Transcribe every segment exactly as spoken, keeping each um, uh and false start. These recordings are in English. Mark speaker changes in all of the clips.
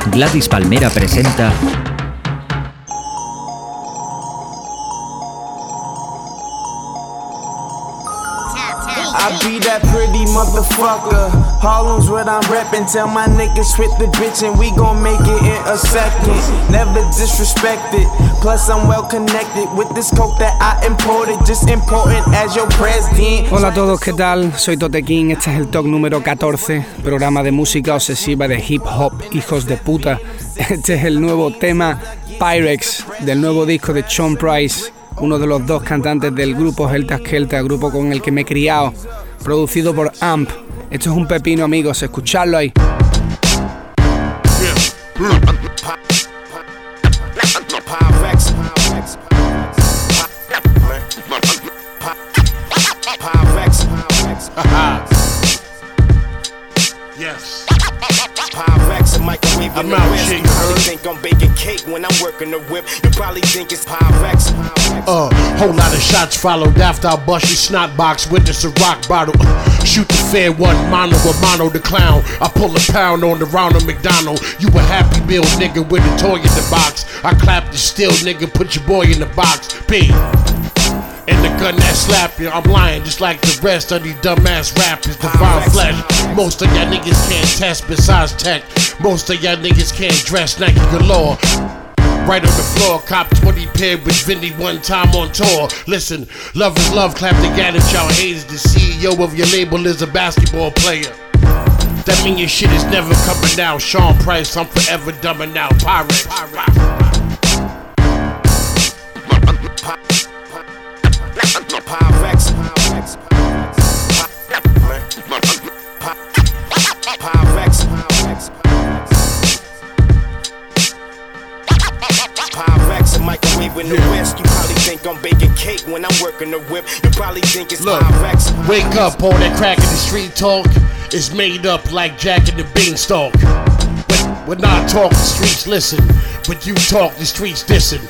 Speaker 1: Gladys Palmera presenta
Speaker 2: I be that pretty motherfucker. Harlem's what I'm reppin'. Tell my niggas hit the bitch and we gon' make it in a second. Never disrespected. Plus I'm well connected with this coke that I imported. Just important as your president.
Speaker 3: Hola a todos, ¿qué tal? Soy Tote King, este es el Talk número catorce, programa de música obsesiva de hip hop, hijos de puta. Este es el nuevo tema Pyrex del nuevo disco de Sean Price, uno de los dos cantantes del grupo Helter Skelter, grupo con el que me he criado, producido por Amp. Esto es un pepino, amigos, escuchadlo ahí.
Speaker 4: Yes. Pyrex and microwave in the west. You probably think I'm baking cake when I'm working the whip. You probably think it's Pyrex. Uh, whole lot of shots followed after I bust your snot box with this a rock bottle. Shoot the fair one, mono or mono the clown. I pull a pound on the Ronald McDonald. You a happy meal nigga with a toy in the box. I clap the steel nigga, put your boy in the box. P. And the gun that slap you, I'm lying just like the rest of these dumbass rappers. Divine flesh. Most of y'all niggas can't test besides tech. Most of y'all niggas can't dress Nike galore. Right on the floor, cop twenty paired with Vinny one time on tour. Listen, love is love, clap together, y'all haters. The C E O of your label is a basketball player. That mean your shit is never coming out. Sean Price, I'm forever dumbing out. Pyrex. Pyrex. Pyrex. Pyrex and microwave in the west. You probably think I'm baking cake when I'm working the whip. You probably think it's Look, Pyrex. Wake up, all that crack in the street talk is made up like Jack and the Beanstalk. But when I talk, the streets listen. But you talk, the streets dissing.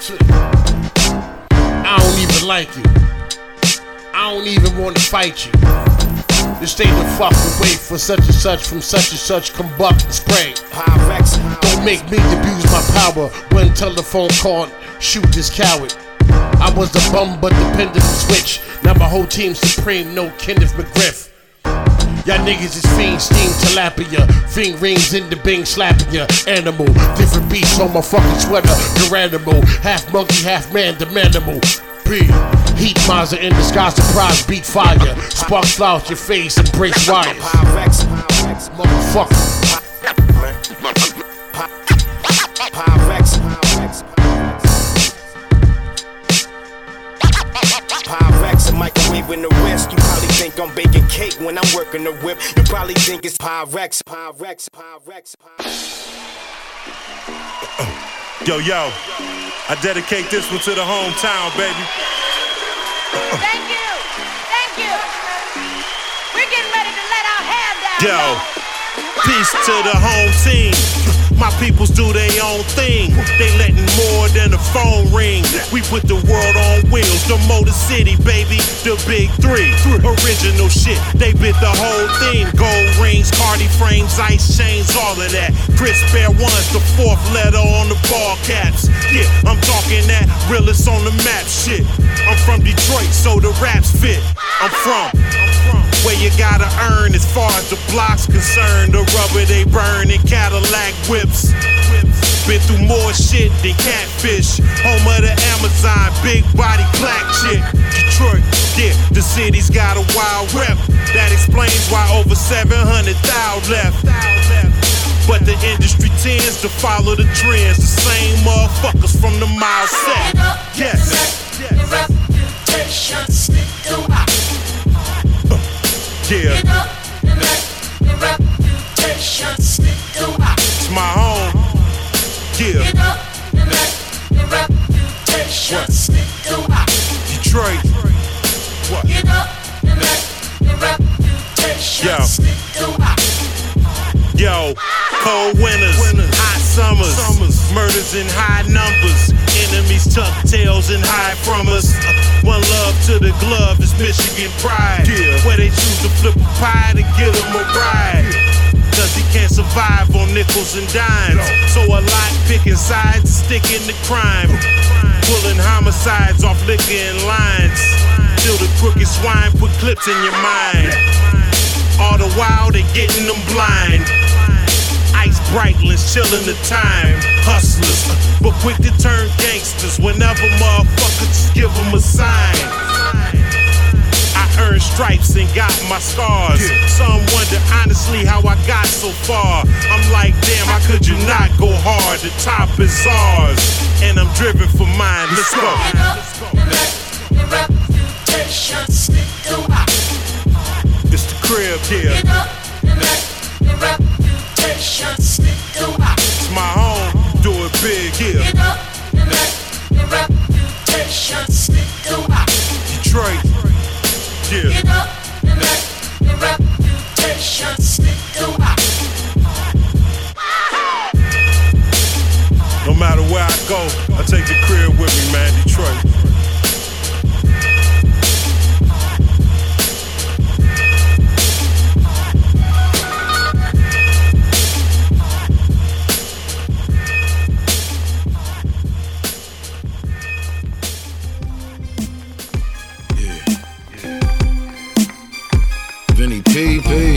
Speaker 4: I don't even like you. I don't even want to fight you. Just stay the fuck away for such and such from such and such combust and spray. Pyrex. Don't make me abuse my power when telephone call, shoot this coward. I was the bum but the pendulum switch. Now my whole team's supreme, no Kenneth McGriff. Y'all niggas is fiend, steam, tilapia. Fiend rings in the bing, slapping ya. Animal, different beats on my fucking sweater. Garanimal, half monkey, half man, the manimal. P. Heat Mazda in the sky, surprise, beat fire. Sparks fly out your face and brace wires. Motherfucker. Pyrex. Pyrex and microwave in the west. You probably think I'm baking cake when I'm working the whip. You probably think it's Pyrex. Pyrex. Pyrex.
Speaker 5: Yo, yo, I dedicate this one to the hometown, baby.
Speaker 6: Thank you, thank you. We're getting ready to let our hair down.
Speaker 5: Yo, peace to the home team. My peoples do their own thing. They letting more than a phone ring. We put the world on wheels. The Motor City, baby, the big three. Original shit, they bit the whole thing. Gold rings, Cardi frames, ice chains, all of that. Chris Bear one's the fourth letter on the ball caps. Yeah, I'm talking that realest on the map shit. I'm from Detroit, so the raps fit. I'm from, I'm from where you gotta earn as far as the block's concerned. The rubber they burn in Cadillac whips. Been through more shit than Catfish. Home of the Amazon, big body black chick. Detroit, yeah, the city's got a wild rep. That explains why over seven hundred thousand left. But the industry tends to follow the trends. The same motherfuckers from the mile set. Yes.
Speaker 7: Your reputation stick throughout.
Speaker 5: Yeah.
Speaker 7: Get up and let your reputation stick throughout.
Speaker 5: It's my home. Yeah.
Speaker 7: Get up and let your reputation
Speaker 5: What?
Speaker 7: stick throughout.
Speaker 5: Detroit. What?
Speaker 7: Get up and let your reputation
Speaker 5: Yo.
Speaker 7: stick throughout.
Speaker 5: Yo, cold winters, hot summers, murders in high numbers. Enemies tuck tails and hide from us. One love to the glove is Michigan pride. Where they choose to flip a pie to get them a ride. Cause he can't survive on nickels and dimes. So a lot picking sides, sticking to crime. Pulling homicides off liquor and lines. Till the crooked swine put clips in your mind. All the while they getting them blind. Ice Breitlands chillin' the time. Hustlers, but quick to turn gangsters. Whenever motherfuckers just give them a sign. I earned stripes and got my scars. Some wonder honestly how I got so far. I'm like, damn, how could you not go hard? The top is ours, and I'm driven for mine. Let's go.
Speaker 7: Get up and let your reputation stick throughout.
Speaker 5: It's the crib here.
Speaker 7: Get up and let your reputation stick throughout.
Speaker 5: It's my home, do it big here.
Speaker 7: Get up and let your reputation stick throughout.
Speaker 5: Detroit, yeah.
Speaker 7: Get up and let your reputation stick throughout.
Speaker 5: No matter where I go, I take the crib with me, man, Detroit.
Speaker 8: Vinny P P.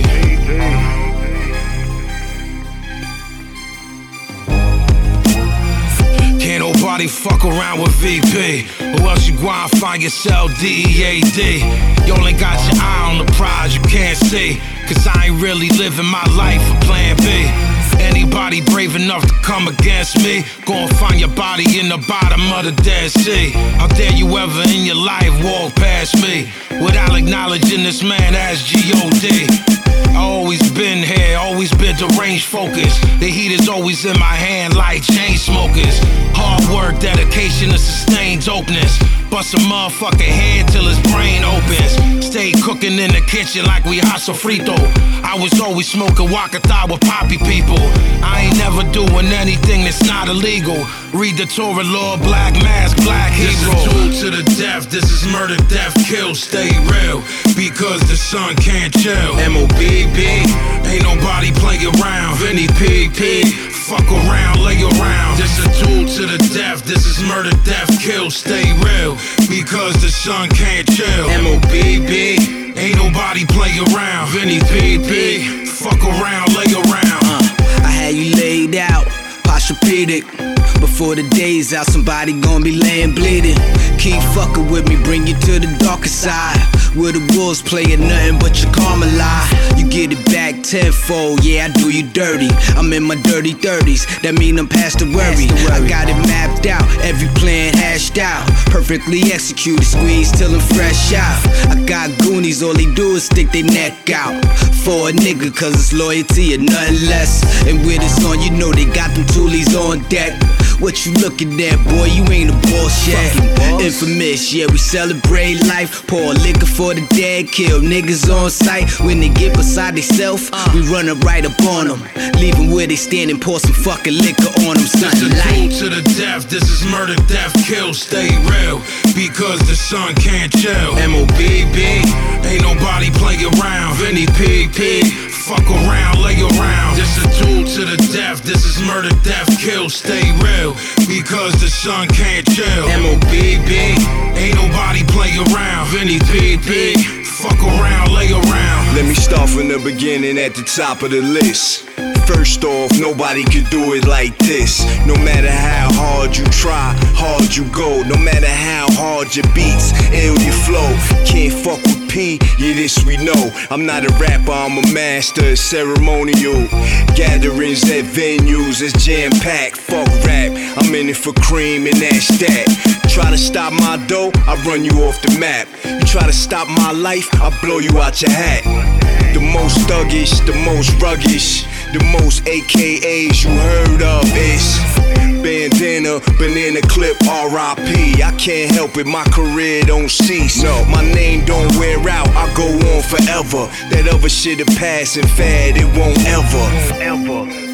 Speaker 8: Can't nobody fuck around with V P, or else you gonna find yourself D E A D. You only got your eye on the prize you can't see, cause I ain't really living my life for plan B. Anybody brave enough to come against me, gon' find your body in the bottom of the Dead Sea. How dare you ever in your life walk past me without acknowledging this man as G O D. I always been here, always been deranged focused. The heat is always in my hand like chain smokers. Hard work, dedication, and sustained dopeness. Bust a motherfucker head till his brain opens. Stay cooking in the kitchen like we hot sofrito. I was always smoking Wakata with poppy people. I ain't never doing anything that's not illegal. Read the Torah law, black mask, black hero. This is tool to the death, this is murder, death, kill, stay real. Because the sun can't chill. M O B B, ain't nobody play around. Vinny P P, fuck around, lay around. This a tool to the death, this is murder, death, kill, stay real. Because the sun can't chill. M O B B, ain't nobody play around. Vinny P P, fuck around, lay around.
Speaker 9: uh, I had you laid out, Posturepedic. Before the day's out, somebody gon' be laying bleeding. Keep fucking with me, bring you to the darker side, where the wolves playing nothing but your karma lie. You get it back tenfold, yeah, I do you dirty. I'm in my dirty thirties, that mean I'm past the worry. I got it mapped out, every plan hashed out, perfectly executed, squeezed till I'm fresh out. I got goonies, all they do is stick their neck out for a nigga, cause it's loyalty and nothing less. And with this on, you know they got them toolies on deck. What you looking at, boy? You ain't a boss yet. Infamous, yeah, we celebrate life. Pour liquor for the dead, kill niggas on sight. When they get beside theyself, we run up right up on them. Leave them where they stand and pour some fucking liquor on them.
Speaker 8: This is a tool to the death, this is murder, death, kill, stay real. Because the sun can't chill. M O B B, ain't nobody play around. Vinny P P, fuck around, lay around. This a tool to the death, this is murder, death, kill, stay real. Because the sun can't chill. M O B B, ain't nobody play around. Vinny P P, fuck around, lay around.
Speaker 10: Let me start from the beginning at the top of the list. First off, nobody could do it like this. No matter how hard you try, hard you go. No matter how hard your beats, ill your flow. Can't fuck with P, yeah, this we know. I'm not a rapper, I'm a master of ceremonial. Gatherings at venues, it's jam-packed. Fuck rap, I'm in it for cream and that's that. Try to stop my dough, I run you off the map. You try to stop my life, I blow you out your hat. The most thuggish, the most ruggish, the most A K As you heard of is Bandana, banana clip, R I P. I can't help it, my career don't cease. No, my name don't wear out, I go on forever. That other shit a pass and fad, it won't ever, ever.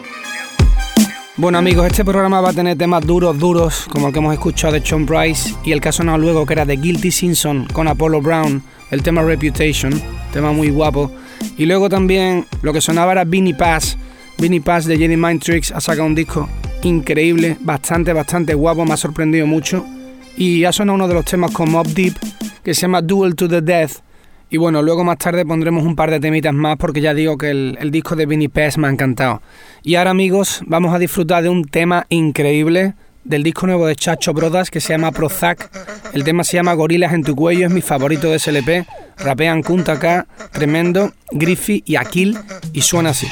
Speaker 3: Bueno amigos, este programa va a tener temas duros, duros, como el que hemos escuchado de Sean Price y el que ha sonado luego, que era de Guilty Simpson con Apollo Brown, el tema Reputation, tema muy guapo. Y luego también lo que sonaba era Vinnie Paz Vinnie Paz de Jedi Mind Tricks ha sacado un disco increíble, bastante, bastante guapo, me ha sorprendido mucho. Y ha sonado uno de los temas con Mobb Deep, que se llama Duel to the Death. Y bueno, luego más tarde pondremos un par de temitas más, porque ya digo que el, el disco de Vinnie Paz me ha encantado. Y ahora, amigos, vamos a disfrutar de un tema increíble del disco nuevo de Chacho Brothers, que se llama Prozac. El tema se llama Gorilas en tu cuello, es mi favorito de ese L P. Rapean Kunta K, Tremendo, Griffy y Akil, y suena así.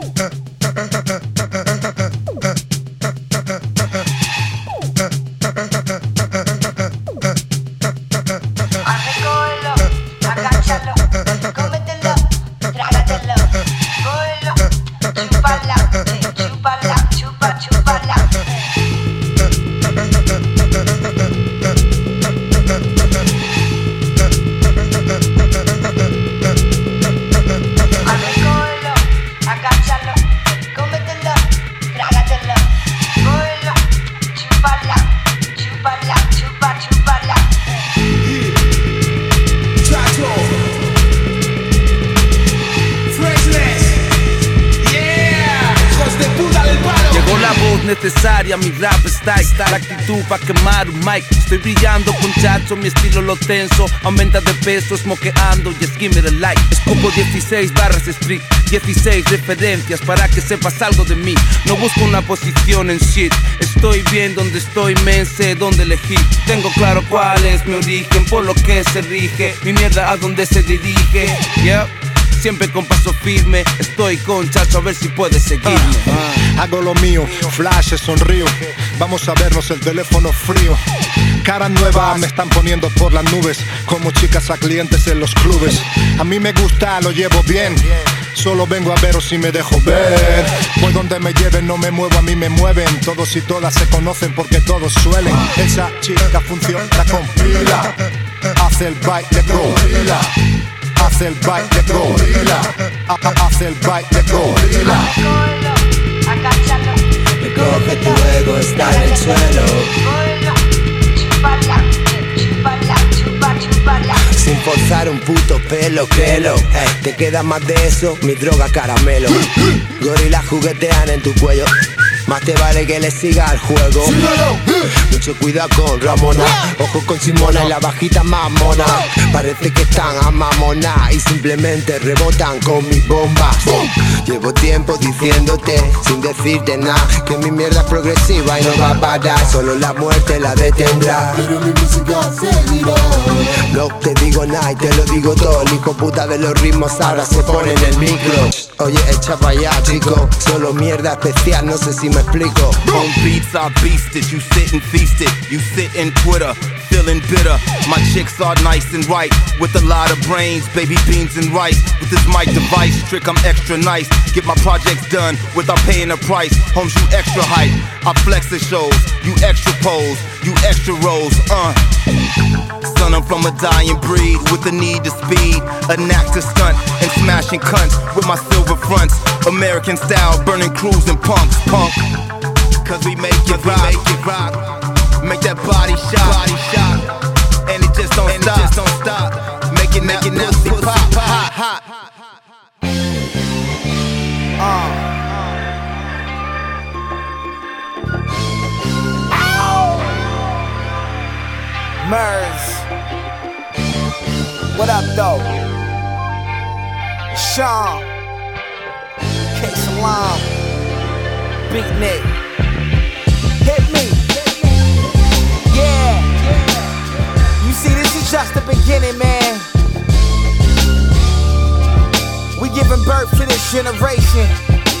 Speaker 11: Necesaria, mi rap está, está la actitud pa' quemar un mic. Estoy brillando con Chacho, mi estilo lo tenso. Aumenta de peso, smokeando y es give me the light. Escupo dieciséis barras street, dieciséis referencias para que sepas algo de mí. No busco una posición en shit, estoy bien donde estoy, me sé dónde elegir. Tengo claro cuál es mi origen, por lo que se rige mi mierda a donde se dirige. Yeah. Siempre con paso firme, estoy con Chacho a ver si puedes seguirme.
Speaker 12: uh, uh, Hago lo mío, flash, sonrío. Vamos a vernos el teléfono frío. Cara nueva me están poniendo por las nubes, como chicas a clientes en los clubes. A mí me gusta, lo llevo bien. Solo vengo a veros si me dejo ver. Voy donde me lleven, no me muevo, a mí me mueven. Todos y todas se conocen porque todos suelen. Esa chica funciona con pila. Hace el baile gorila. Hace el baile gorila. Hace el baile gorila.
Speaker 13: Recoge tu ego, está en el suelo. Sin forzar un puto pelo, créelo. Hey, te queda más de eso, mi droga caramelo. Gorilas juguetean en tu cuello. Más te vale que le siga el juego. Mucho cuidado con Ramona. Ojo con Simona y la bajita más mona. Parece que están a mamona y simplemente rebotan con mis bombas. Llevo tiempo diciéndote, sin decirte nada, que mi mierda es progresiva y no va a parar. Solo la muerte la detendrá. Pero mi música seguirá. No te digo nada y te lo digo todo. El hijo puta de los ritmos ahora se pone en el micro. Oye, echa pa' allá, chico. Solo mierda especial, no sé si me explico.
Speaker 11: On beats I beasted, you sit and feast it. You sit in Twitter, feeling bitter. My chicks are nice and right, with a lot of brains, baby beans and rice. With this mic device trick, I'm extra nice. Get my projects done without paying a price. Homes, you extra hype. I flex the shows, you extra pose, you extra rolls, uh. Son, I'm from a dying breed with a need to speed, a knack to stunt and smashing cunts with my silver fronts. American style, burning crews and punks, punk. Cause we make it rock, we make it rock. Make that body shot, body shot. And it just don't and stop, it just don't stop. Making that, making that pussy, pussy pop, pop, hot, hot. Uh.
Speaker 2: Mers, what up though? Sean, K Salam, Beatnik, hit me. Yeah, you see this is just the beginning, man. We giving birth to this generation.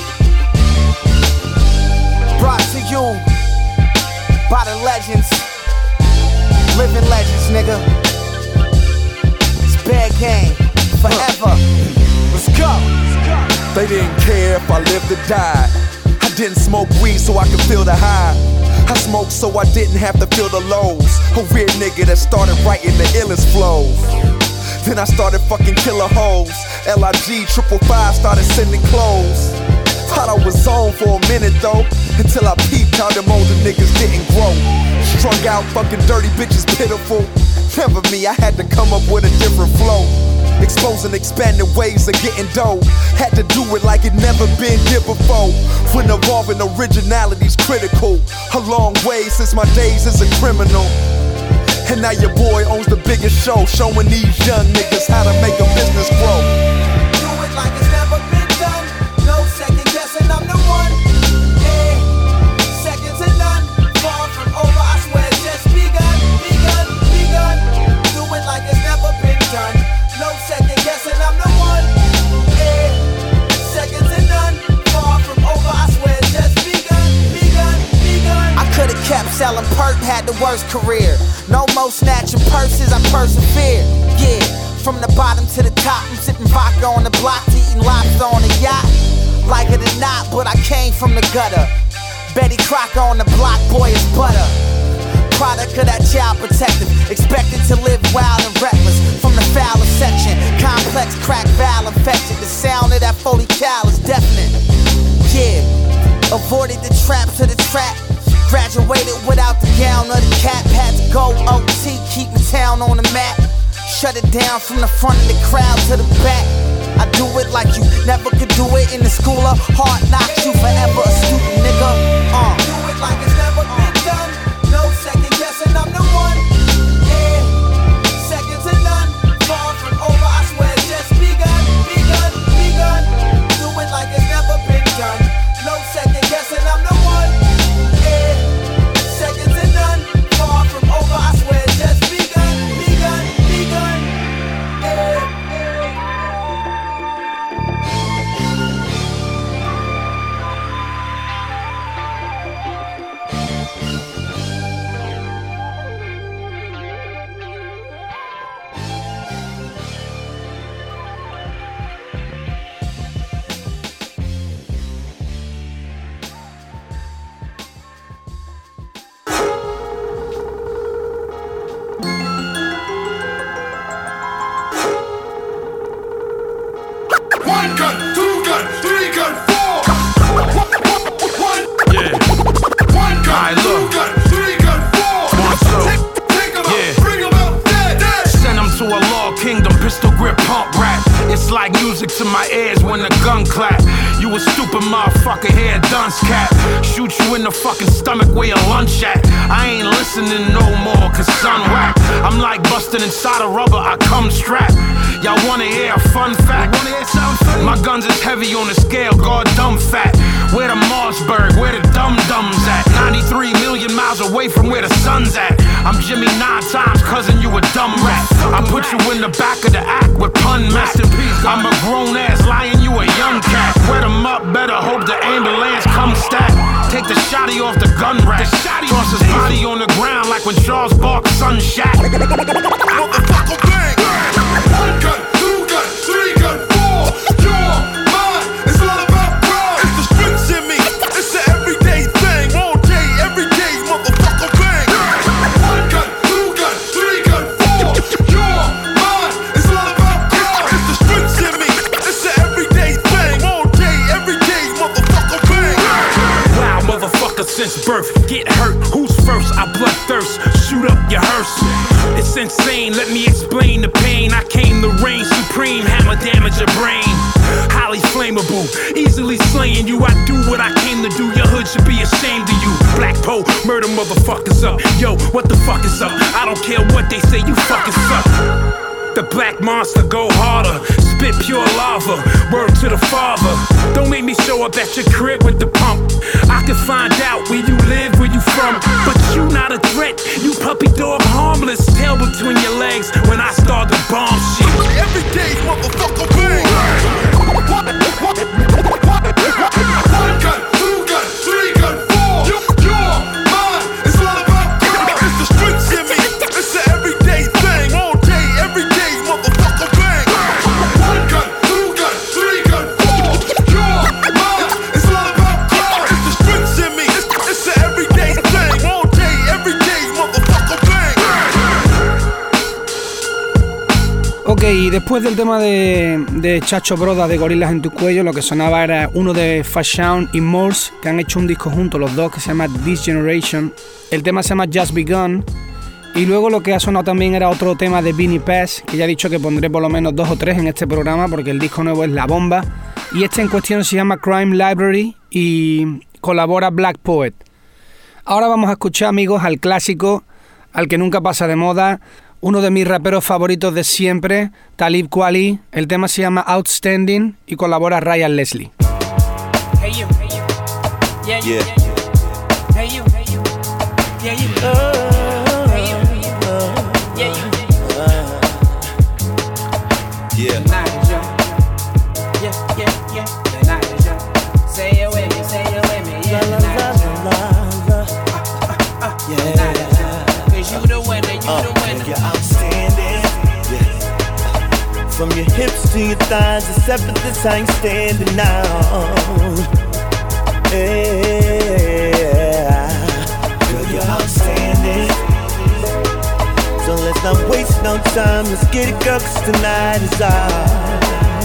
Speaker 2: Brought to you by the legends. Living legends, nigga. It's bad game, forever. Let's go.
Speaker 14: They didn't care if I lived or died. I didn't smoke weed so I could feel the high. I smoked so I didn't have to feel the lows. A weird nigga that started writing the illest flows. Then I started fucking killer hoes. L I G triple five started sending clothes. Thought I was on for a minute though, until I peeped how them older niggas didn't grow. Strung out, fucking dirty bitches pitiful. Never me, I had to come up with a different flow. exposing expanding ways of getting dough. Had to do it like it never been here before. When evolving originality's critical. A long way since my days as a criminal. And now your boy owns the biggest show, showing these young niggas how to make a business grow.
Speaker 15: Do it like it's never been done. No second guessing, I'm the one. Yeah, second to none. Far from over, I swear it's just begun, begun, begun. Do it like it's never been done. No second guessing, I'm the one. Yeah, second to none. Far from over, I swear it's just begun, begun, begun.
Speaker 16: I could've kept selling perk, had the worst career. No more snatching purses, I persevere. Yeah, from the bottom to the top, I'm sipping vodka on the block to eating lobster on a yacht. Like it or not, but I came from the gutter. Betty Crocker on the block, boy, it's butter. Product of that child protective, expected to live wild and reckless. From the fouler section, complex crack valve infection. The sound of that forty cal is deafening. Yeah, avoided the traps to the trap. Graduated without the gown or the cap. Had to go O T, keep the town on the map. Shut it down from the front of the crowd to the back. I do it like you never could do it in the school of hard knocks. You forever a student, nigga. Uh.
Speaker 15: Do it like it's never been done. No second guessing, I'm the one. Yeah, second to none. Far from over, I swear it's just begun, begun, begun. Do it like it's never been done. No second guessing, I'm the one. Second to none, far from over, I swear it's just begun, begun, begun. Yeah.
Speaker 8: To my ears when the gun clap. You a stupid motherfucker, here dunce cap. Shoot you in the fucking stomach where your lunch at. I ain't listening no more, cause son whack. I'm like busting inside a rubber, I come strapped. Y'all wanna hear a fun fact? My guns is heavy on the scale, God dumb fat. Where the Mossberg, where the dum-dums at? ninety-three million miles away from where the sun's at. I'm Jimmy nine times, cousin, you a dumb rat. I put you in the back of the act with pun master. I'm a grown-ass lion, you a young cat. Wet him up, better hope the ambulance comes stack. Take the shotty off the gun rack. Toss his body on the ground like when Charles Barkley sun shot.
Speaker 14: Motherfucker bang! One gun, two gun, three gun, four. You're mine, it's all about pride. It's the streets in me, it's an everyday thing. All day, every day, motherfucker bang! One gun, two gun, three gun, four. You're mine, it's all about pride. It's the streets in me, it's an everyday thing. All day, every day, motherfucker bang!
Speaker 8: Wow, motherfucker, since birth, get hurt. Who's first? I bloodthirst. Shoot up your hearse. It's insane, let me explain the pain. I came to reign supreme, hammer damage your brain. Highly flammable, easily slaying you. I do what I came to do, your hood should be ashamed of you. Black Poe, murder motherfuckers up. Yo, what the fuck is up? I don't care what they say, you fucking suck. The black monster go harder, spit pure lava, word to the father. Don't make me show up at your crib with the pump. I can find out where you live, where you from, but you not a threat, you puppy dog harmless. Tail between your legs when I start to bomb shit.
Speaker 14: Every day, motherfucker bang! One gun, two gun, three gun, four. You're mine, it's all about God. It's the streets in me, it's an everyday thing. All day, every day, motherfucker bang! One gun, two gun, three gun, four. You're mine, it's all about God. It's the streets in me, it's, it's an everyday thing. All day, every day, motherfucker bang!
Speaker 3: Ok, y después del tema de, de Chacho Broda de Gorilas en tu cuello, lo que sonaba era uno de Fashawn y Morse, que han hecho un disco juntos los dos que se llama This Generation. El tema se llama Just Begun Y luego lo que ha sonado también era otro tema de Vinnie Paz, que ya he dicho que pondré por lo menos dos o tres en este programa porque el disco nuevo es la bomba. Y este en cuestión se llama Crime Library y colabora Black Poet. Ahora vamos a escuchar, amigos, al clásico, al que nunca pasa de moda, uno de mis raperos favoritos de siempre, Talib Kweli. El tema se llama Outstanding y colabora Ryan Leslie.
Speaker 17: Hey you, hey you. Yeah, yeah. Hey you, hey you. Yeah, you. Oh, hey you, hey you. Yeah, you.
Speaker 11: Yeah.
Speaker 17: The night is young. Yeah, yeah, yeah. The night is young. Say it with me, say it with me. Yeah, the night is young. Yeah, the night is young. 'Cause you the winner, you
Speaker 18: uh,
Speaker 17: the winner.
Speaker 18: You're outstanding. Yeah. From your hips to your thighs, except for this I ain't standing now. Yeah, girl, you're outstanding. So let's not waste no time. Let's get it, girl, 'cause tonight is ours.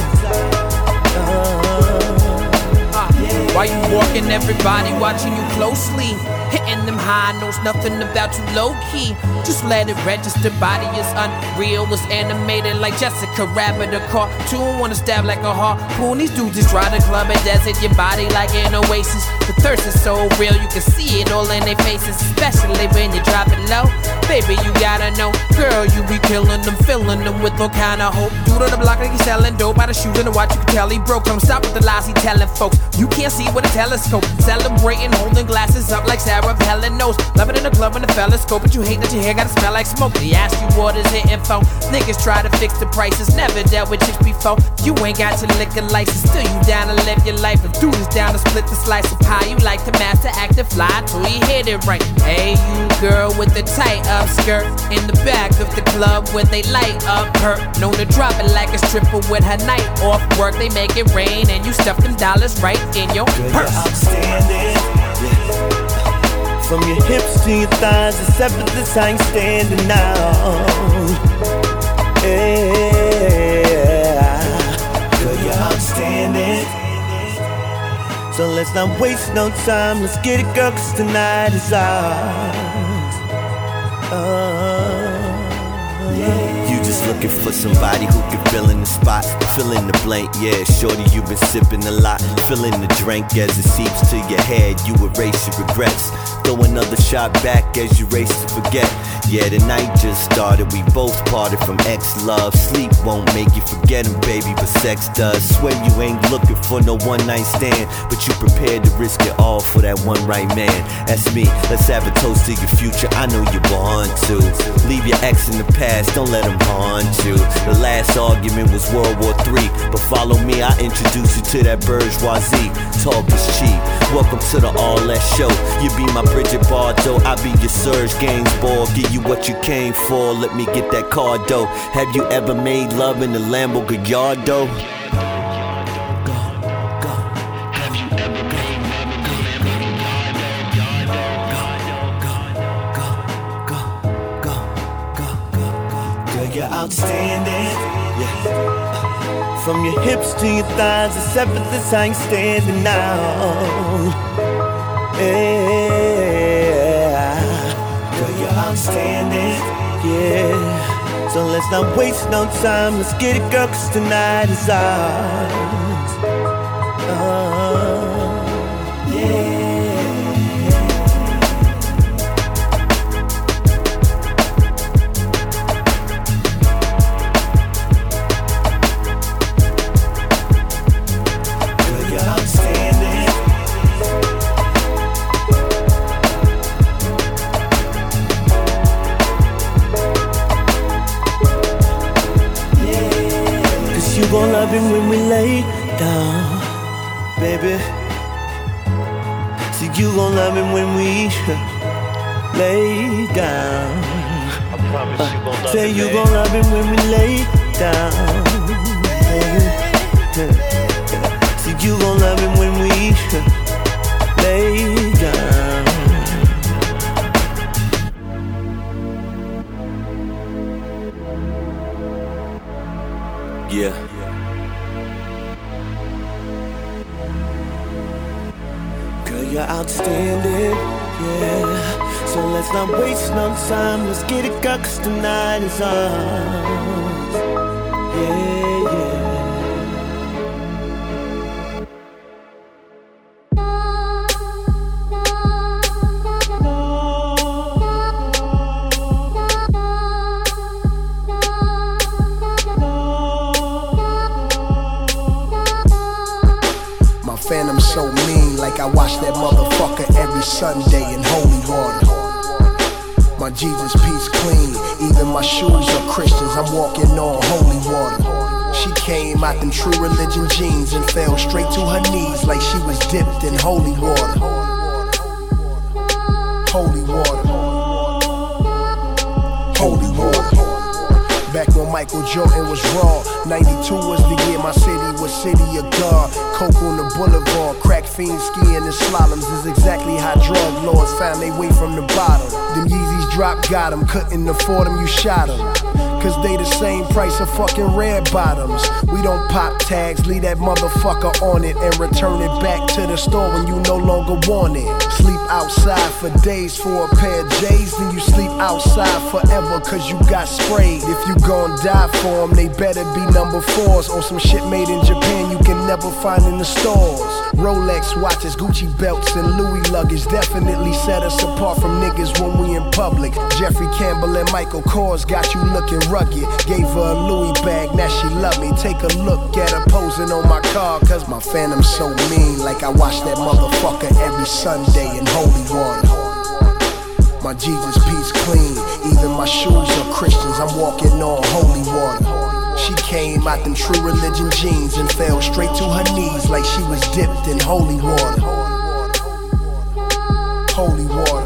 Speaker 17: Why you walking, everybody watching you closely. Hitting them high notes, nothing about you low key. Just let it register, body is unreal. Was animated like Jessica Rabbit, a cartoon. Wanna stab like a harpoon. These dudes just try to club and desert your body like an oasis. The thirst is so real, you can see it all in their faces. Especially when you drop it low. Baby, you gotta know, girl, you be killing them, filling them with all kind of hope. Dude on the block like he's selling dope. By the shoes and the watch, you can tell he broke. Come stop with the lies he telling folks. You can't see with a telescope. Celebrating, holding glasses up like Sarah of Helen knows. Love it in the club when the fellas scope. But you hate that your hair gotta smell like smoke. They ask you what is hitting for. Niggas try to fix the prices. Never dealt with chicks before. You ain't got your liquor license. Still you down to live your life. If dude is down to split the slice of pie. You like to master act and fly till you hit it right. Hey you girl with the tight up skirt. In the back of the club where they light up her. Known to drop it like a stripper with her night off work. They make it rain and you stuff them dollars right in your
Speaker 18: Girl,
Speaker 17: purse.
Speaker 18: you're outstanding. Yeah. From your hips to your thighs, except for this I ain't standing now. Yeah. Girl, you're outstanding. So let's not waste no time. Let's get it, girl, 'cause tonight is ours. Uh, yeah.
Speaker 11: You just looking for somebody who can fill in the spot, fill in the blank, yeah. Shorty, you been sipping a lot, fill in the drink as it seeps to your head. You erase your regrets, throw another shot back as you race to forget. Yeah, the night just started, we both parted from ex-love. Sleep won't make you forget him, baby, but sex does. Swear you ain't looking for no one-night stand, but you prepared to risk it all for that one right man. That's me, let's have a toast to your future, I know you want to. Leave your ex in the past, don't let him haunt you. The last argument was World War Three, but follow me, I introduce you to that bourgeoisie. Talk is cheap, welcome to the All That Show. You be my Bridget Bardot, I be your Serge Gainsbourg. Give you what you came for, let me get that card though. Have you ever made love in the Lambo Gallardo?
Speaker 18: You're outstanding, yeah. From your hips to your thighs, except for this I ain't standing now. Yeah, girl, you're outstanding, yeah. So let's not waste no time. Let's get it, girl, 'cause tonight is ours. Uh, yeah. You gon' love him when we lay down, baby. See, you gon' love him when we lay down.
Speaker 11: I promise you gon' love
Speaker 18: Say
Speaker 11: him,
Speaker 18: you
Speaker 11: babe.
Speaker 18: gon' love him when we lay down, baby. See, you gon' love him when we lay down.
Speaker 11: Yeah.
Speaker 18: Girl, you're outstanding, yeah. So let's not waste no time, let's get it, girl, cause tonight is ours. Yeah, yeah.
Speaker 19: Phantom so mean, like I watch that motherfucker every Sunday in holy water. My Jesus peace clean, even my shoes are Christians, I'm walking on holy water. She came out them true religion jeans and fell straight to her knees like she was dipped in holy water. Holy water. Holy water. Back when Michael Jordan was raw, ninety-two was the year my city was city of God. Coke on the boulevard, crack fiends skiing in slaloms is exactly how drug lords found their way from the bottom. Them Yeezys drop got them, couldn't afford them, you shot them. Cause they the same price of fucking red bottoms. We don't pop tags, leave that motherfucker on it and return it back to the store when you no longer want it. Sleep outside for days for a pair of J's, then you sleep outside forever cause you got sprayed. If you gon' die for them, they better be number fours or some shit made in Japan you can never find in the stores. Rolex watches, Gucci belts, and Louis luggage definitely set us apart from niggas when we in public. Jeffrey Campbell and Michael Kors got you looking rugged. Gave her a Louis bag, now she love me. Take a look at her posing on my car, cause my phantom's so mean, like I watch that motherfucker every Sunday in holy water. My Jesus peace clean, even my shoes are Christians, I'm walking on holy water. She came out them true religion jeans and fell straight to her knees like she was dipped in holy water. Holy water.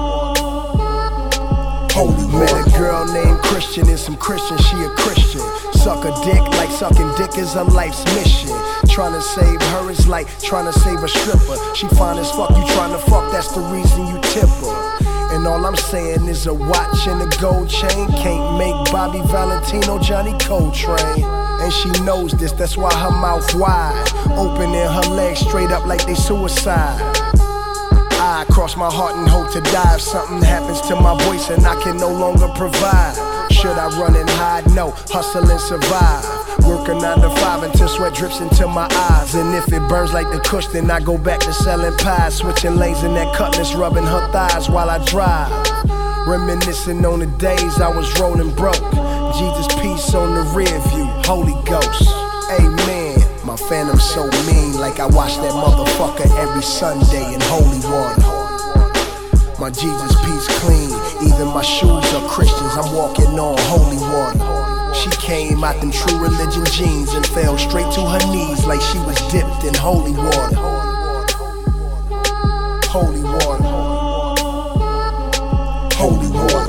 Speaker 19: Holy water. Met a girl named Christian and some Christian, she a Christian. Suck a dick like sucking dick is her life's mission. Tryna save her is like tryna save a stripper. She fine as fuck, you tryna fuck, that's the reason you tip her. And all I'm saying is a watch and a gold chain can't make Bobby Valentino Johnny Coltrane. And she knows this, that's why her mouth wide, opening her legs straight up like they suicide. I cross my heart and hope to die if something happens to my voice and I can no longer provide. Should I run and hide? No, hustle and survive. Working nine to five until sweat drips into my eyes. And if it burns like the kush, then I go back to selling pies. Switching lanes in that cutlass, rubbing her thighs while I drive. Reminiscing on the days I was rolling broke. Jesus peace on the rear view, Holy Ghost, amen. My phantom's so mean, like I watch that motherfucker every Sunday in holy water. My Jesus peace clean, even my shoes are Christians, I'm walking on holy water. She came out them true religion jeans and fell straight to her knees like she was dipped in holy water. Holy water. Holy water.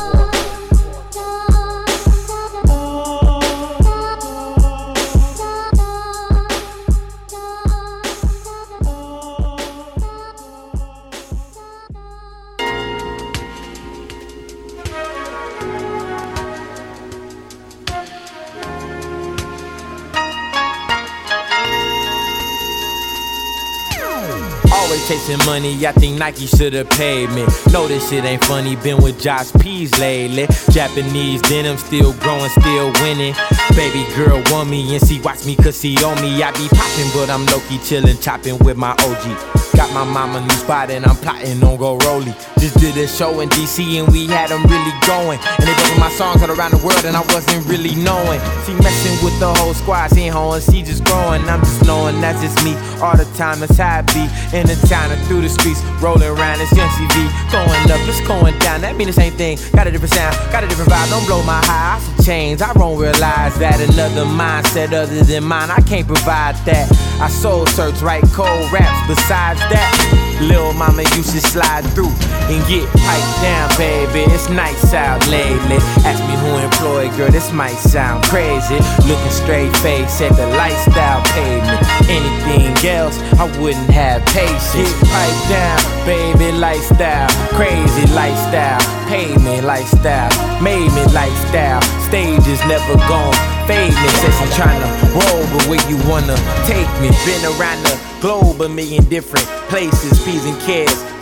Speaker 20: Chasing money, I think Nike should've paid me. No, this shit ain't funny, been with Josh P's lately. Japanese denim, still growing, still winning. Baby girl want me and she watch me cause she on me. I be popping, but I'm low-key chillin', chopping with my O G. Got my mama new spot and I'm plotting on go rollie. Just did a show in D C and we had them really going. And they bumping my songs all around the world and I wasn't really knowing. She messing with the whole squad, she ain't hoeing, she just growing. I'm just knowing that's just me all the time, that's how I be. In the town and through the streets, rolling around this young C V. Going up, it's going down, that mean the same thing. Got a different sound, got a different vibe, don't blow my high. I should change, I won't realize that another mindset other than mine, I can't provide that. I soul search, write cold raps. Besides that, lil' mama, you should slide through and get piped down, baby. It's nice out lately. Ask me who employed, girl, this might sound crazy. Looking straight face at the lifestyle pavement. Anything else, I wouldn't have patience. Get piped down, baby, lifestyle. Crazy lifestyle, pavement lifestyle. Made me lifestyle. Stages never gone. Fade me, says I'm tryna roll, but where you wanna take me? Been around the globe, a million different places, P's and cares.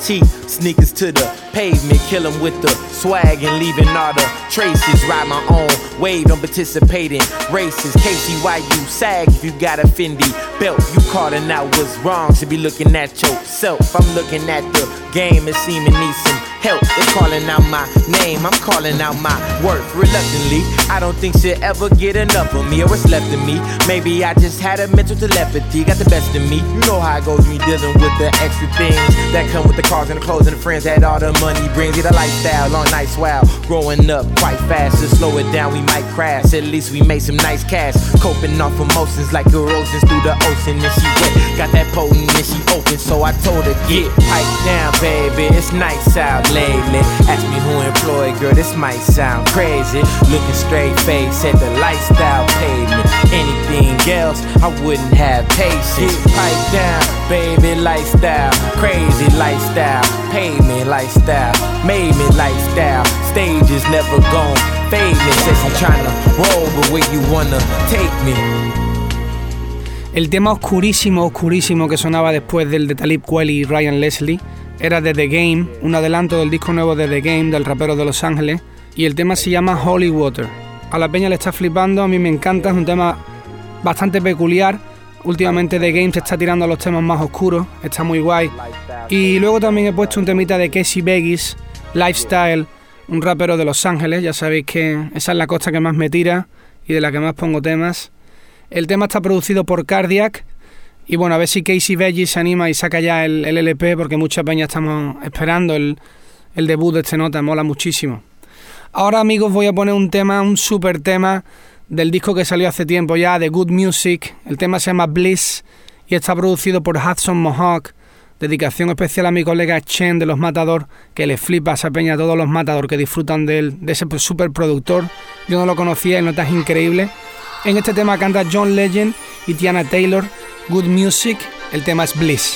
Speaker 20: T, sneakers to the pavement, kill 'em with the swag and leaving all the traces. Ride my own wave, don't participate in races. Casey, why you sag if you got a Fendi belt? You calling out what's wrong, should be looking at yourself. I'm looking at the game and seeming need some help. They're calling out my name, I'm calling out my worth. Reluctantly, I don't think she'll ever get enough of me or what's left of me. Maybe I just had a mental telepathy, got the best of me. You know how it goes when you're dealing with the extra things that come with the cars and the clothes and the friends that all the money brings. Get a lifestyle, long nights, wow. Growing up quite fast, to slow it down we might crash. At least we made some nice cash. Coping off emotions like erosions through the ocean. And she wet, got that potent and she open, so I told her get piped down, baby. It's nice out lately. Ask me who employed, girl, this might sound crazy. Looking straight face, said the lifestyle paid me. Anything else, I wouldn't have patience. Pipe down, baby, lifestyle. Crazy lifestyle, paid me lifestyle. Made me lifestyle. Stages never gone fade me. Says I'm tryna roll, but where you wanna take me.
Speaker 3: El tema oscurísimo, oscurísimo que sonaba después del de Talib Kweli y Ryan Leslie era de The Game, un adelanto del disco nuevo de The Game, del rapero de Los Ángeles, y el tema se llama Holy Water. A la peña le está flipando, a mí me encanta, es un tema bastante peculiar. Últimamente The Game se está tirando a los temas más oscuros, está muy guay. Y luego también he puesto un temita de Casey Vegas, Lifestyle, un rapero de Los Ángeles, ya sabéis que esa es la costa que más me tira y de la que más pongo temas. El tema está producido por Cardiac. Y bueno, a ver si Casey Vegas se anima y saca ya el, el L P, porque mucha peña estamos esperando el, el debut de este nota, mola muchísimo. Ahora, amigos, voy a poner un tema, un super tema del disco que salió hace tiempo ya, de Good Music. El tema se llama Bliss y está producido por Hudson Mohawk. Dedicación especial a mi colega Chen de Los Matador, que le flipa a esa peña, a todos los Matador que disfrutan de, él, de ese super productor. Yo no lo conocía y notas increíbles. En este tema canta John Legend y Tiana Taylor. Good Music, el tema es Bliss.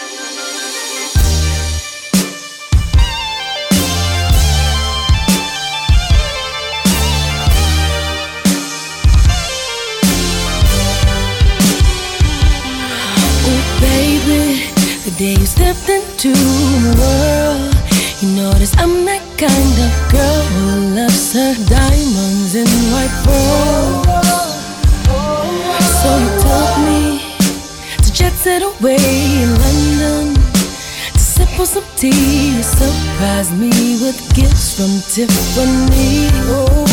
Speaker 21: Oh baby, the day you stepped into my world, you notice I'm that kind of girl who loves her diamonds in white pearl. So you told me jet set away in London to sip on some tea. You surprised me with gifts from Tiffany. Oh,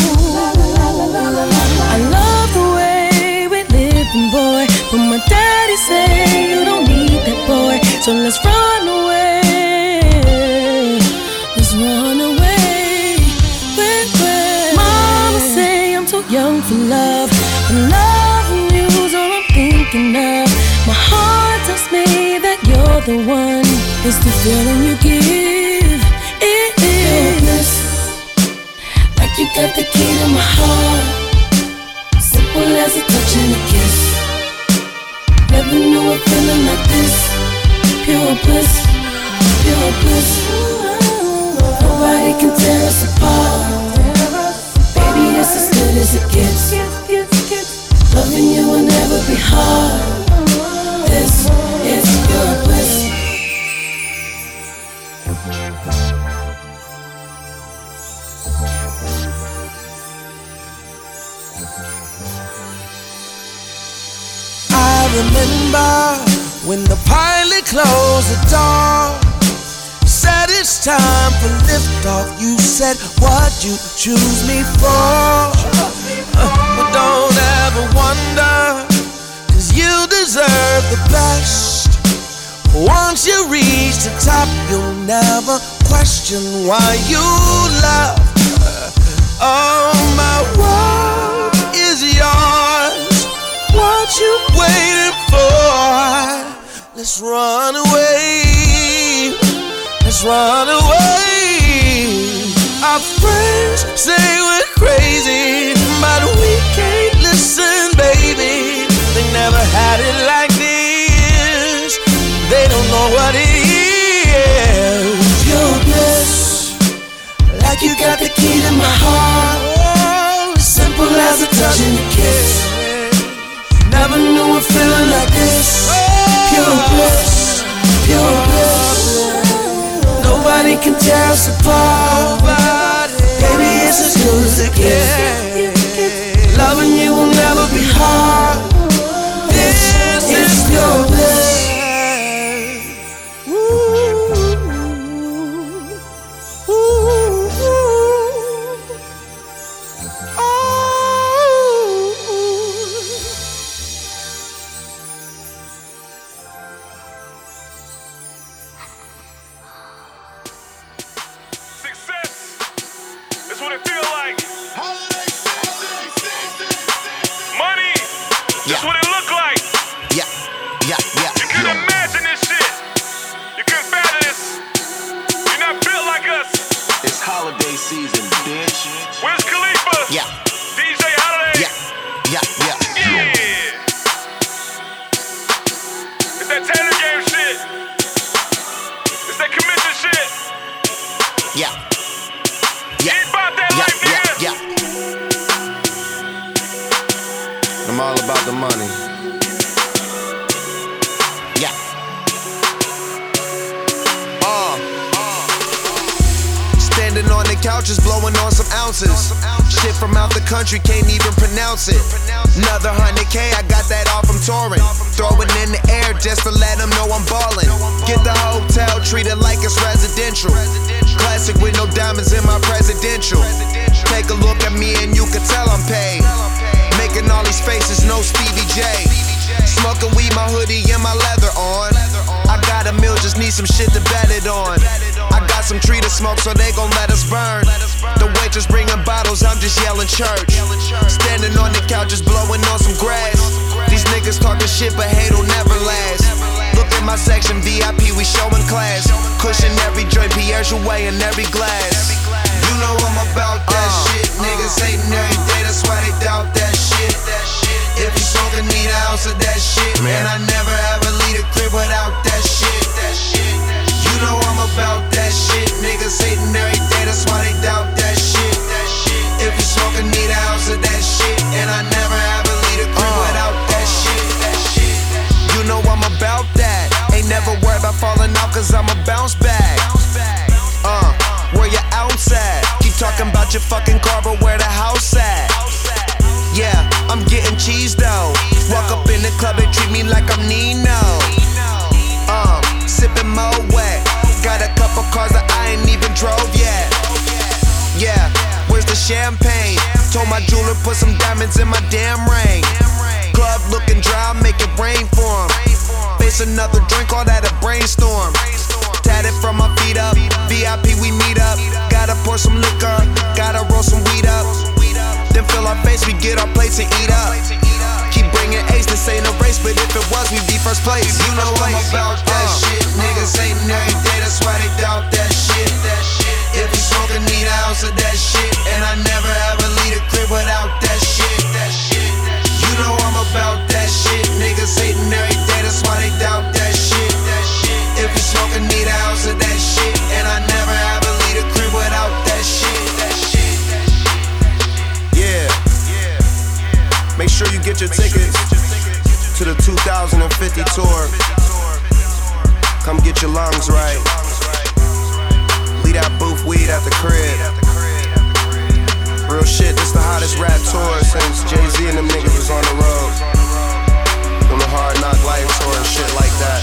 Speaker 21: I love the way we living, boy. But my daddy say you don't need that boy, so let's run away. Let's run away. Wait, wait. Mama say I'm too young for love, but loving you's all I'm thinking of. My heart tells me that you're the one. It's the feeling you give. It is like you got the key to my heart. Simple as a touch and a kiss. Never knew a feeling like this. Pure bliss, pure bliss. Nobody can tear us apart. Baby, it's as good as it gets. Loving you will never be hard. This is your bliss.
Speaker 2: I remember when the pilot closed the door, said it's time for liftoff. You said, what you choose me for? Uh, but don't ever wonder, you deserve the best. Once you reach the top, you'll never question why you love. Oh, my world is yours. What you waiting for? Let's run away. Let's run away. Our friends say we're crazy, but we can't listen, baby. They never had it like this. They don't know what it is. Pure bliss, like you got the key to my heart. Simple as a touch and a kiss. Never knew a feeling like this. Pure bliss, pure bliss.
Speaker 21: Nobody can tear us apart. Baby, it's as good as it gets. Loving you will never be hard. This is your bliss.
Speaker 1: Can't even pronounce it. Another hundred K, I got that all from touring. Throw it in the air just to let them know I'm ballin'. Get the hotel, treat it like it's residential. Classic with no diamonds in my presidential. Take a look at me and you can tell I'm paid. Making all these faces, no Stevie J. Smoking weed, my hoodie and my leather on. I got a meal, just need some shit to bet it on. I got some tree to smoke, so they gon' let us burn. The waitress bringing bottles, I'm just yelling church. Standing on the couch, just blowing on some grass. These niggas talking shit, but hate'll never last. Look at my section, V I P, we showing class. Cushion every joint, Pierre Jouet in every glass. You know I'm about that uh, shit. Niggas hating every day, that's why they doubt that shit. If you smoking, need an ounce of that shit. Man, I never ever leave a crib without that shit. You know I'm about that shit. Niggas hating every day, that's why they doubt that shit. If you smoking, need an ounce of that shit. And I never ever leave a crib uh, without that shit. You know I'm about that. Ain't never worried about falling out, cause I'ma bounce back. Uh, where your ounce at? Keep talking about your fucking car, but where the house at? Yeah, I'm getting cheese though. Walk up in the club, they treat me like I'm Nino. Uh, sipping Moet. Got a couple cars that I ain't even drove yet. Yeah, where's the champagne? Told my jeweler put some diamonds in my damn ring. Club looking dry, make it rain for him. Face another drink, all that a brainstorm. Tatted from my feet up, V I P we meet up. Gotta pour some liquor, gotta roll some weed up. Then fill our face, we get our plates and eat up. Keep bringing ace, this ain't a race, but if it was, we'd be first place. You know I'm about that uh. shit. Niggas hating every day, that's why they doubt that shit. If you smoking, need an ounce of that shit. And I never ever leave a crib without that shit. You know I'm about that shit. Niggas hating every day, that's why they doubt that shit. If you smoking, need an ounce of that shit. And I never ever leave a crib without that shit. Yeah. Make sure you get your tickets to the two thousand fifty tour. Come get your lungs right. Leave that booth weed at the crib. Real shit, this the hottest rap tour since Jay-Z and them niggas was on the road. From the Hard Knock Life tour and shit like that.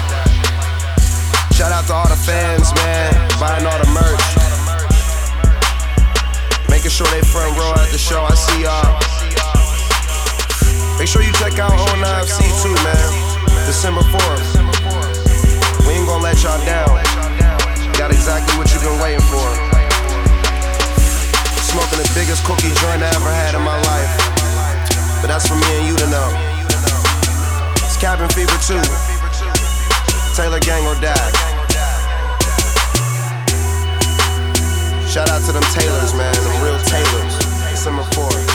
Speaker 1: Shout out to all the fans, man, buying all the merch. Making sure they front row at the show, I see y'all. Make sure you check out oh nine F C too, man. December fourth. We ain't gonna let y'all down. Got exactly what you've been waiting for. Smoking the biggest cookie joint I ever had in my life. But that's for me and you to know. It's Cabin Fever two. Taylor Gang or die. Shout out to them Taylors, man. Them real Taylors. December fourth.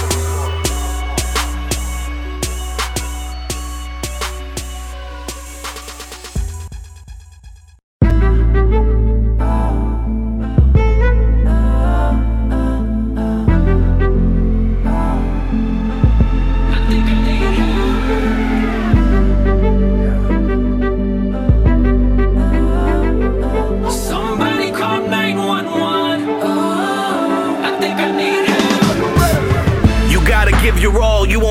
Speaker 21: Somebody call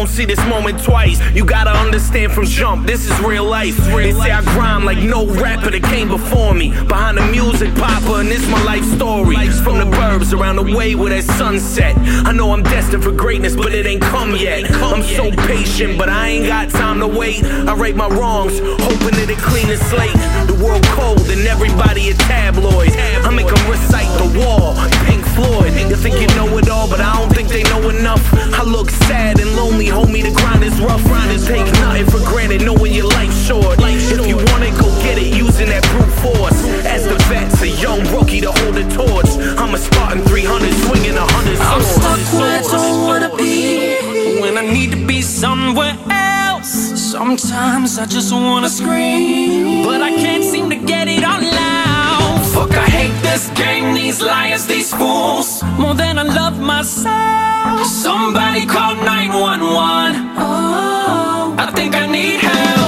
Speaker 4: won't see this moment twice. You gotta understand from jump, this is real life. They say I grind like no rapper that came before me. Behind the music, Papa, and this my life story. From the burbs around the way where that sunset. I know I'm destined for greatness, but it ain't come yet. I'm so patient, but I ain't got time to wait. I right my wrongs, hoping that it clean the slate. The world cold and everybody a tabloid. I make them recite the wall, Pink Floyd. You think you know it all, but I don't think they know enough. I look sad and lonely, homie, the grind is rough. Take nothing for granted, knowing your life's short. If you want it, go get it, using that brute force. As the vet's a young rookie to hold the torch. I'm a Spartan three hundred, swinging a hundred swords.
Speaker 22: I'm stuck where I don't wanna be, when I need to be somewhere else. Sometimes I just wanna scream, but I can't seem to get it out loud. Fuck, I hate this game, these liars, these fools, more than I love myself. Somebody call nine one one. Oh, I think I need help.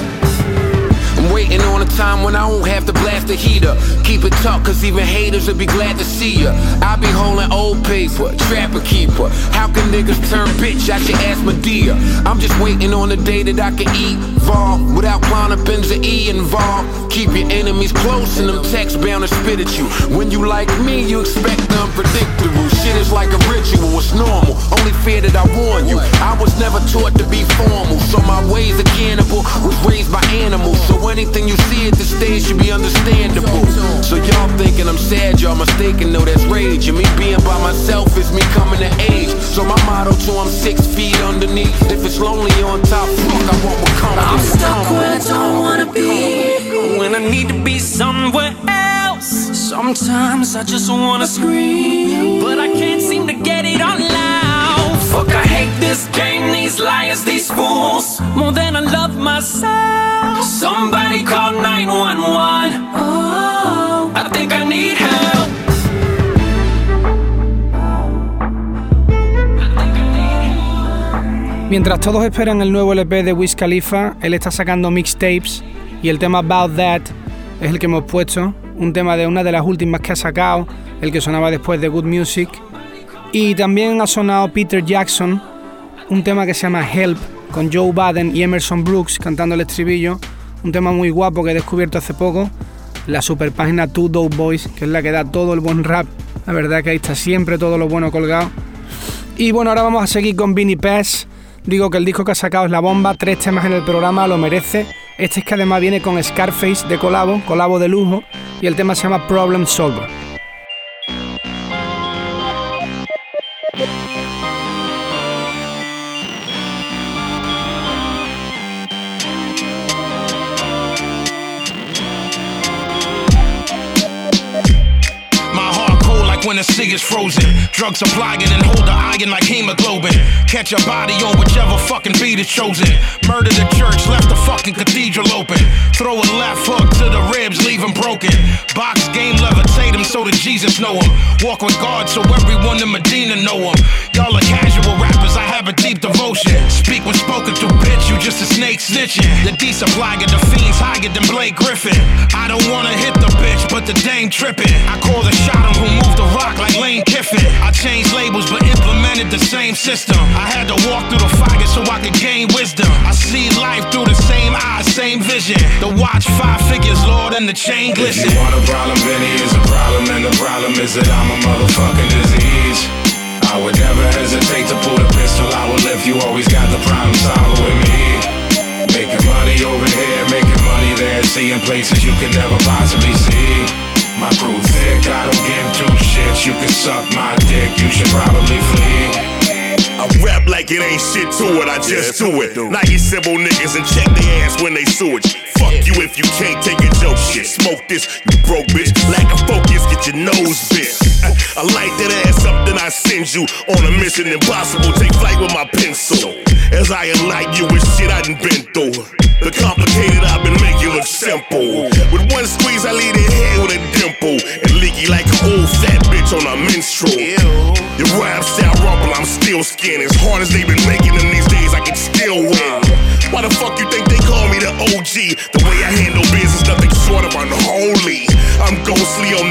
Speaker 8: I'm waiting on a time when I won't have to blast the heater. Keep it tough, cause even haters will be glad to see ya. I be holding old paper, trapper keeper. How can niggas turn bitch? I should ask Medea. I'm just waiting on the day that I can evolve without Clonopins or E involved. Keep your enemies close and them texts bound to spit at you. When you like me, you expect the unpredictable. Shit is like a ritual, it's normal. Only fear that I warn you, I was never taught to be formal. So my ways of cannibal was raised by animals. So anything you see at the stage should be understandable. So y'all thinking I'm sad, y'all mistaken, no, that's rage. And me being by myself is me coming to age. So my motto too, I'm six feet underneath. If it's lonely on top, fuck, I won't become.
Speaker 22: I'm stuck where I don't wanna be, when I need to be somewhere else. Sometimes I just wanna scream, but I can't seem to get it out loud. Fuck, I hate this game, these liars, these fools, more than I love myself. Somebody call nine one one. Oh, I think I need help.
Speaker 3: Mientras todos esperan el nuevo L P de Wiz Khalifa, él está sacando mixtapes y el tema About That es el que hemos puesto, un tema de una de las últimas que ha sacado, el que sonaba después de Good Music. Y también ha sonado Peter Jackson, un tema que se llama Help, con Joe Budden y Emerson Brooks cantando el estribillo, un tema muy guapo que he descubierto hace poco, la super página Two Dope Boys, que es la que da todo el buen rap. La verdad que ahí está siempre todo lo bueno colgado. Y bueno, ahora vamos a seguir con Vinnie Paz. Digo que el disco que ha sacado es la bomba, tres temas en el programa, lo merece. Este es que además viene con Scarface de colabo, colabo de lujo, y el tema se llama Problem Solver.
Speaker 8: When the cig is frozen, drugs apply it and hold the iron like hemoglobin. Catch a body on whichever fucking beat is chosen. Murder the church, left the fucking cathedral open. Throw a left hook to the ribs, leave him broken. Box game, levitate him so that Jesus know him. Walk with God so everyone in Medina know him. Y'all are casual rappers, I have a deep devotion. Speak when spoken to, bitch, you just a snake snitching. The D-supply the fiends higher than Blake Griffin. I don't wanna hit the bitch, but the dame tripping. I call the shot him who moved the rock like Lane Kiffin. I changed labels but implemented the same system. I had to walk through the fire so I could gain wisdom. I see life through the same eyes, same vision. The watch five figures, Lord, and the chain glisten.
Speaker 23: If you want a problem, Benny is a problem, and the problem is that I'm a motherfucking disease. I would never hesitate to pull the pistol out if you always got the problem solver with me. Making money over here, making money there, seeing places you could never possibly see. My crew thick, I don't give two shits. You can suck my dick, you should probably flee.
Speaker 5: I rap like it ain't shit to it, I just do it. Now you simple niggas and check their ass when they sewage. Fuck you if you can't take a joke shit. Smoke this, you broke bitch. Lack of focus, get your nose bit. I, I light that ass up, then I send you on a mission impossible. Take flight with my pencil. As I enlighten you with shit I done been through. The complicated I've been making look simple. With one squeeze I leave their head with a dimple. And leaky like an old fat bitch on a menstrual. Your rap sound rumble, I'm still skin. As hard as they been making them these days, I can still win. Why the fuck you think they call me the O G? The way I handle business, nothing short of unholy. I'm ghostly on the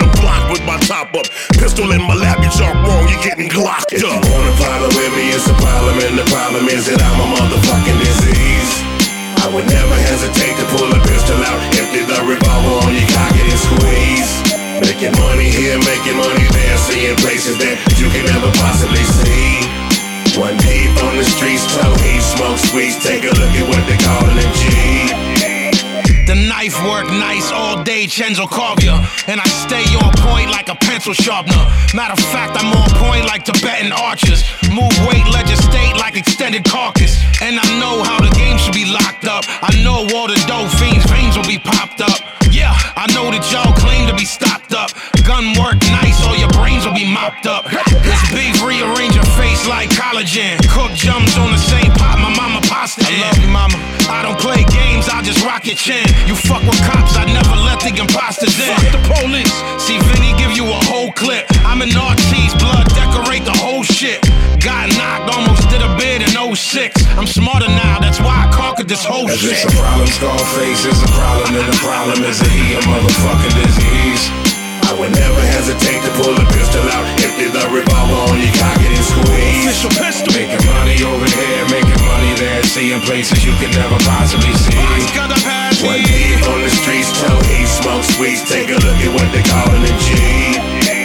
Speaker 5: the block with my top up. Pistol in my lap, you talk wrong, you're getting glocked
Speaker 23: if
Speaker 5: up.
Speaker 23: If you want a problem with me, it's a problem, and the problem is that I'm a motherfucking disease. I would never hesitate to pull a pistol out, empty the revolver on your cock and squeeze. Making money here, making money there, seeing places that you can never possibly see. One deep on the streets, toe heat, smoke sweets, take a look at what they callin' a G.
Speaker 8: The knife work nice all day, Chenzo carve ya. And I stay on point like a pencil sharpener. Matter of fact, I'm on point like Tibetan archers. Move weight, legislate like extended carcass. And I know how the game should be locked up. I know all the dope fiends' veins will be popped up. Yeah, I know that y'all claim to be stocked up. Gun work nice, all your brains will be mopped up. This beef rearrange your face like collagen. Cook jumps on the same pot my mama pasta in. I love you, mama. I don't play games, I just rock your chin. You fuck with cops, I never let the imposters in. Fuck the police. See Vinny give you a whole clip. I'm in Artie's blood, decorate the whole shit. Got knocked, almost did a bid in oh six. I'm smarter now, that's why I conquered this whole
Speaker 23: If
Speaker 8: shit.
Speaker 23: it's a problem, Scarface is a problem, and the problem is that he a motherfucking disease. I would never hesitate to pull a pistol out, empty the revolver on your cock and squeeze.
Speaker 8: Official pistol.
Speaker 23: Making money over here, making money there, seeing places you can never possibly see. One deep on the streets, toe heat, smoke sweets, take a look at what they callin' a G.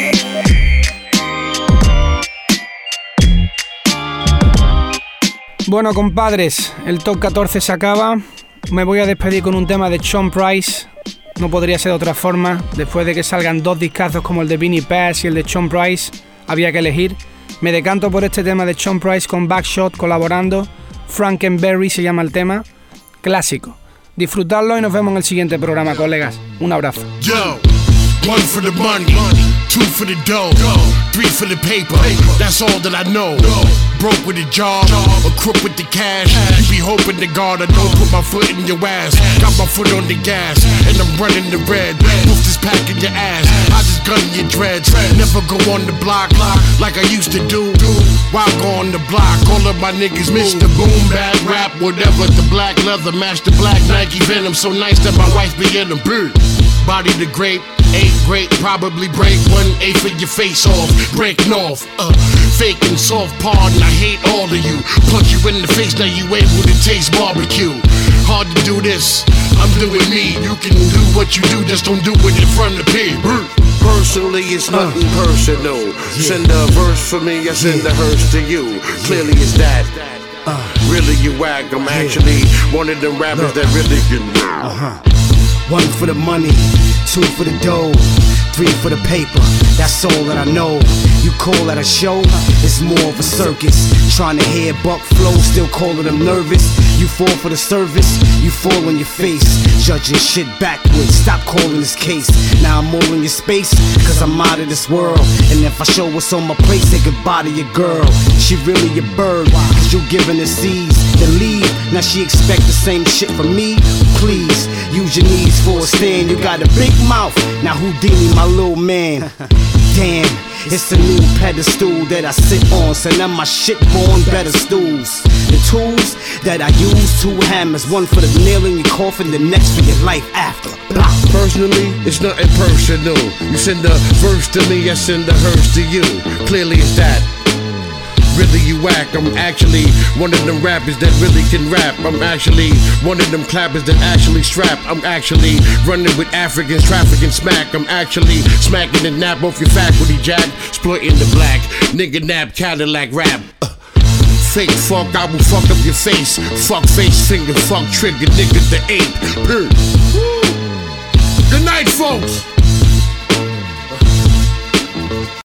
Speaker 3: Bueno, compadres, el top catorce se acaba. Me voy a despedir con un tema de Sean Price. No podría ser de otra forma. Después de que salgan dos discazos como el de Vinnie Paz y el de Sean Price, había que elegir. Me decanto por este tema de Sean Price con Backshot colaborando. Frankenberry se llama el tema. Clásico. Disfrutadlo y nos vemos en el siguiente programa, colegas. Un abrazo.
Speaker 5: Yo, one for the money, two for the dough, three for the paper. That's all that I know. Broke with a job, a crook with the cash. You be hoping to God I don't put my foot in your ass. Got my foot on the gas, and I'm running the red. Move this pack in your ass, I just gun your dreads. Never go on the block like I used to do. Why go on the block? All of my niggas Mister Boom, bad rap, whatever. The black leather match the black Nike Venom. So nice that my wife be in them. Body the grape, ain't great, probably break one eighth of your face off, breaking off, uh, faking soft pardon, I hate all of you, punch you in the face, now you able to taste barbecue, hard to do this, I'm doing me, you can do what you do, just don't do it in front of people.
Speaker 6: Personally, it's nothing uh, personal, yeah. Send a verse for me, I send yeah. a hearse to you, yeah. Clearly it's that, uh, really you whack, I'm yeah. actually one of them rappers Look. that really can rap.
Speaker 7: Uh-huh. One for the money, two for the dough, three for the paper, that's all that I know. You call that a show? It's more of a circus. Trying to hear Buck flow, still calling them nervous. You fall for the service, you fall on your face. Judging shit backwards, stop calling this case. Now I'm all in your space, cause I'm out of this world. And if I show what's on my plate, say goodbye to your girl. She really a bird, cause you giving her seeds. Then leave, now she expect the same shit from me? Please, use your knees for a stand. You got a big mouth, now Houdini my little man. Damn, it's a new pedestal that I sit on. So now my shit born better stools. The tools that I use, two hammers. One for the nail in your coffin, the next for your life after. Blah.
Speaker 6: Personally, it's nothing personal. You send a verse to me, I send a hearse to you. Clearly it's that. Really you whack, I'm actually one of them rappers that really can rap. I'm actually one of them clappers that actually strap. I'm actually running with Africans, trafficking smack. I'm actually smacking the nap off your faculty, jack. Exploiting the black, nigga nap, Cadillac rap. uh, Fake fuck, I will fuck up your face. Fuck face, finger, fuck trigger, nigga the ape. Good night, folks.